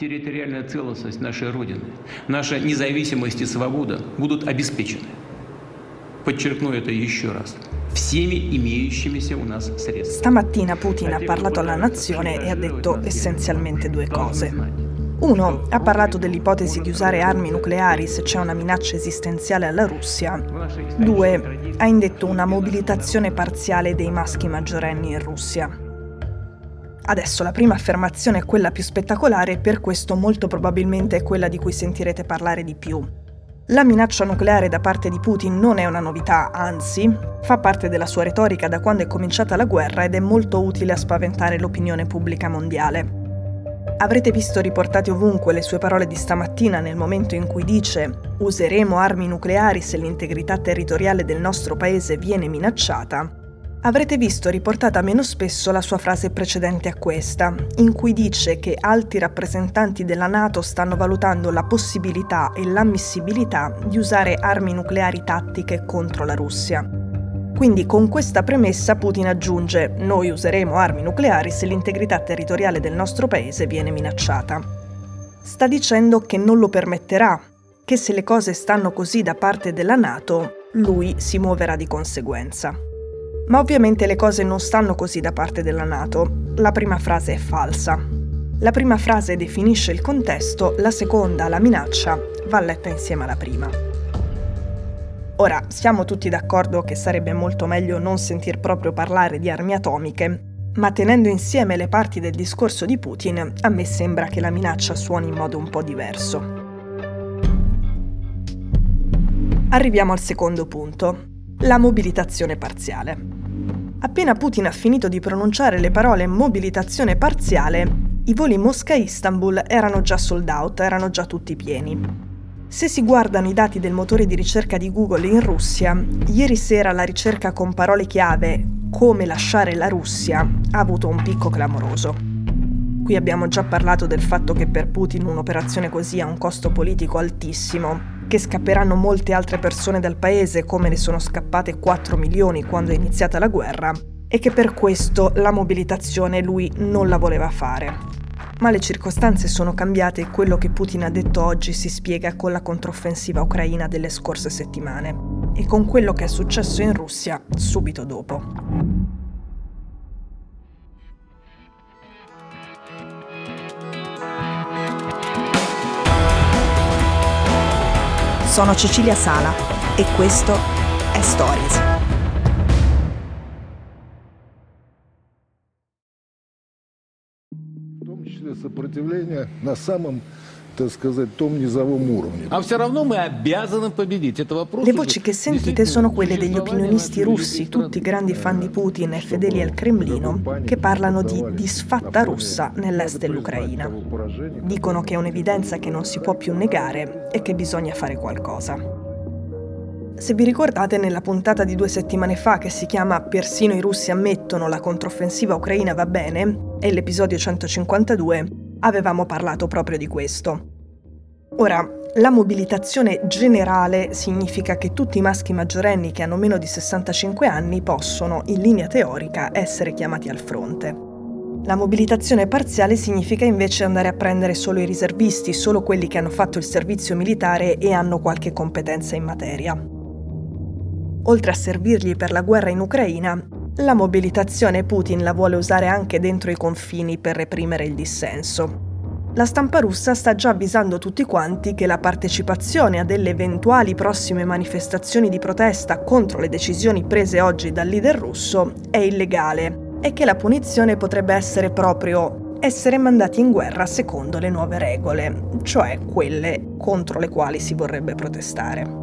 Территориальная целостность нашей Родины, наша независимость и свобода будут обеспечены. Подчеркну это еще раз. Всеми имеющимися у нас средствами. Stamattina Putin ha parlato alla nazione e ha detto essenzialmente due cose. Uno, ha parlato dell'ipotesi di usare armi nucleari se c'è una minaccia esistenziale alla Russia. Due, ha indetto una mobilitazione parziale dei maschi maggiorenni in Russia. Adesso la prima affermazione è quella più spettacolare e per questo molto probabilmente è quella di cui sentirete parlare di più. La minaccia nucleare da parte di Putin non è una novità, anzi, fa parte della sua retorica da quando è cominciata la guerra ed è molto utile a spaventare l'opinione pubblica mondiale. Avrete visto riportate ovunque le sue parole di stamattina nel momento in cui dice «Useremo armi nucleari se l'integrità territoriale del nostro paese viene minacciata». Avrete visto riportata meno spesso la sua frase precedente a questa, in cui dice che alti rappresentanti della NATO stanno valutando la possibilità e l'ammissibilità di usare armi nucleari tattiche contro la Russia. Quindi con questa premessa Putin aggiunge «Noi useremo armi nucleari se l'integrità territoriale del nostro paese viene minacciata». Sta dicendo che non lo permetterà, che se le cose stanno così da parte della NATO, lui si muoverà di conseguenza. Ma ovviamente le cose non stanno così da parte della NATO. La prima frase è falsa. La prima frase definisce il contesto, la seconda, la minaccia, va letta insieme alla prima. Ora, siamo tutti d'accordo che sarebbe molto meglio non sentir proprio parlare di armi atomiche, ma tenendo insieme le parti del discorso di Putin, a me sembra che la minaccia suoni in modo un po' diverso. Arriviamo al secondo punto. La mobilitazione parziale. Appena Putin ha finito di pronunciare le parole mobilitazione parziale, i voli Mosca-Istanbul erano già sold out, erano già tutti pieni. Se si guardano i dati del motore di ricerca di Google in Russia, ieri sera la ricerca con parole chiave «come lasciare la Russia» ha avuto un picco clamoroso. Qui abbiamo già parlato del fatto che per Putin un'operazione così ha un costo politico altissimo, che scapperanno molte altre persone dal paese come ne sono scappate 4 milioni quando è iniziata la guerra e che per questo la mobilitazione lui non la voleva fare. Ma le circostanze sono cambiate e quello che Putin ha detto oggi si spiega con la controffensiva ucraina delle scorse settimane e con quello che è successo in Russia subito dopo. Sono Cecilia Sala e questo è Stories. В том числе сопротивление на самом, так сказать, том низовом уровне. А все равно мы обязаны победить. Это вопрос. Le voci che sentite sono quelle degli opinionisti russi, tutti grandi fan di Putin e fedeli al Cremlino, che parlano di disfatta russa nell'est dell'Ucraina. Dicono che è un'evidenza che non si può più negare e che bisogna fare qualcosa. Se vi ricordate, nella puntata di 2 settimane fa che si chiama «Persino i russi ammettono la controffensiva ucraina va bene», e l'episodio 152, avevamo parlato proprio di questo. Ora, la mobilitazione generale significa che tutti i maschi maggiorenni che hanno meno di 65 anni possono, in linea teorica, essere chiamati al fronte. La mobilitazione parziale significa invece andare a prendere solo i riservisti, solo quelli che hanno fatto il servizio militare e hanno qualche competenza in materia. Oltre a servirgli per la guerra in Ucraina, la mobilitazione Putin la vuole usare anche dentro i confini per reprimere il dissenso. La stampa russa sta già avvisando tutti quanti che la partecipazione a delle eventuali prossime manifestazioni di protesta contro le decisioni prese oggi dal leader russo è illegale e che la punizione potrebbe essere proprio essere mandati in guerra secondo le nuove regole, cioè quelle contro le quali si vorrebbe protestare.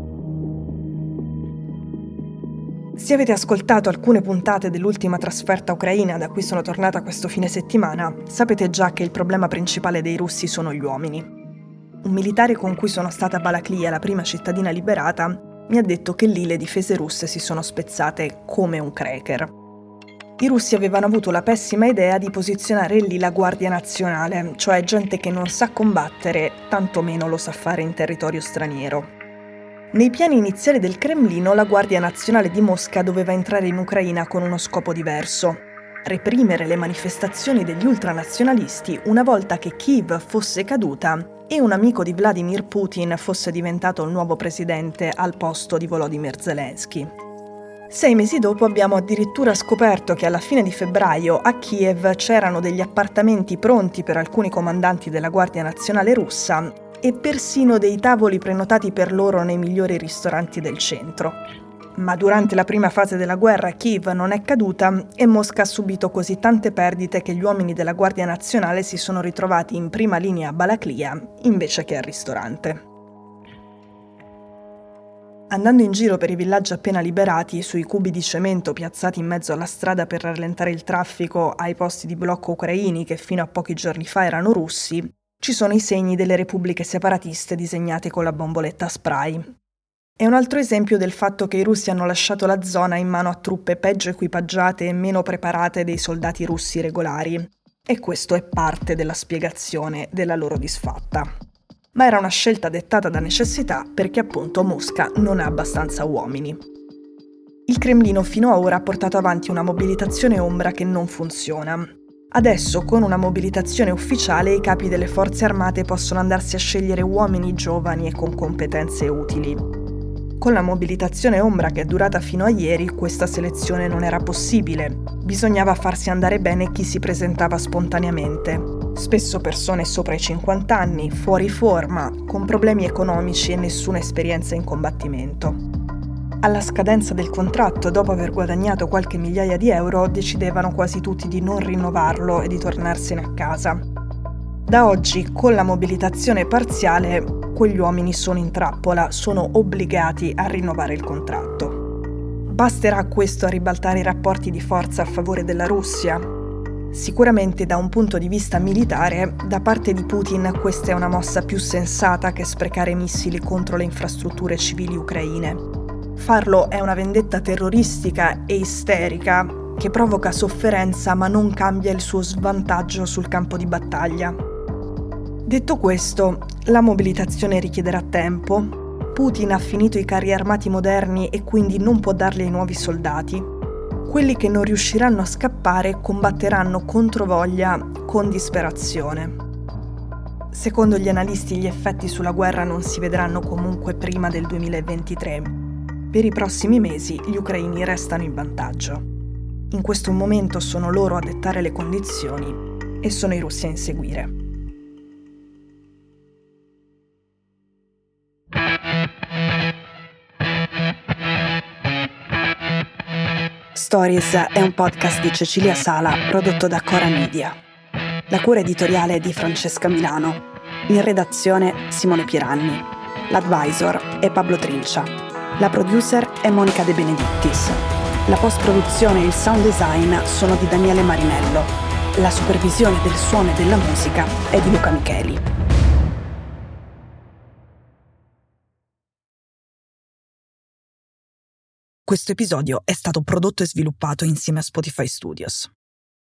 Se avete ascoltato alcune puntate dell'ultima trasferta ucraina da cui sono tornata questo fine settimana, sapete già che il problema principale dei russi sono gli uomini. Un militare con cui sono stata a Balaklia, la prima cittadina liberata, mi ha detto che lì le difese russe si sono spezzate come un cracker. I russi avevano avuto la pessima idea di posizionare lì la Guardia Nazionale, cioè gente che non sa combattere, tantomeno lo sa fare in territorio straniero. Nei piani iniziali del Cremlino, la Guardia Nazionale di Mosca doveva entrare in Ucraina con uno scopo diverso, reprimere le manifestazioni degli ultranazionalisti una volta che Kiev fosse caduta e un amico di Vladimir Putin fosse diventato il nuovo presidente al posto di Volodymyr Zelensky. 6 mesi dopo abbiamo addirittura scoperto che alla fine di febbraio a Kiev c'erano degli appartamenti pronti per alcuni comandanti della Guardia Nazionale russa e persino dei tavoli prenotati per loro nei migliori ristoranti del centro. Ma durante la prima fase della guerra Kiev non è caduta e Mosca ha subito così tante perdite che gli uomini della Guardia Nazionale si sono ritrovati in prima linea a Balaklia invece che al ristorante. Andando in giro per i villaggi appena liberati, sui cubi di cemento piazzati in mezzo alla strada per rallentare il traffico ai posti di blocco ucraini che fino a pochi giorni fa erano russi, ci sono i segni delle repubbliche separatiste disegnate con la bomboletta spray. È un altro esempio del fatto che i russi hanno lasciato la zona in mano a truppe peggio equipaggiate e meno preparate dei soldati russi regolari. E questo è parte della spiegazione della loro disfatta. Ma era una scelta dettata da necessità perché appunto Mosca non ha abbastanza uomini. Il Cremlino fino ad ora ha portato avanti una mobilitazione ombra che non funziona. Adesso, con una mobilitazione ufficiale, i capi delle forze armate possono andarsi a scegliere uomini giovani e con competenze utili. Con la mobilitazione ombra che è durata fino a ieri, questa selezione non era possibile. Bisognava farsi andare bene chi si presentava spontaneamente. Spesso persone sopra i 50 anni, fuori forma, con problemi economici e nessuna esperienza in combattimento. Alla scadenza del contratto, dopo aver guadagnato qualche migliaia di euro, decidevano quasi tutti di non rinnovarlo e di tornarsene a casa. Da oggi, con la mobilitazione parziale, quegli uomini sono in trappola, sono obbligati a rinnovare il contratto. Basterà questo a ribaltare i rapporti di forza a favore della Russia? Sicuramente da un punto di vista militare, da parte di Putin questa è una mossa più sensata che sprecare missili contro le infrastrutture civili ucraine. Farlo è una vendetta terroristica e isterica che provoca sofferenza ma non cambia il suo svantaggio sul campo di battaglia. Detto questo, la mobilitazione richiederà tempo, Putin ha finito i carri armati moderni e quindi non può darli ai nuovi soldati. Quelli che non riusciranno a scappare combatteranno controvoglia con disperazione. Secondo gli analisti gli effetti sulla guerra non si vedranno comunque prima del 2023. Per i prossimi mesi gli ucraini restano in vantaggio. In questo momento sono loro a dettare le condizioni e sono i russi a inseguire. Stories è un podcast di Cecilia Sala prodotto da Cora Media. La cura editoriale è di Francesca Milano. In redazione Simone Pieranni. L'advisor è Pablo Trincia. La producer è Monica De Benedictis. La post-produzione e il sound design sono di Daniele Marinello. La supervisione del suono e della musica è di Luca Micheli. Questo episodio è stato prodotto e sviluppato insieme a Spotify Studios.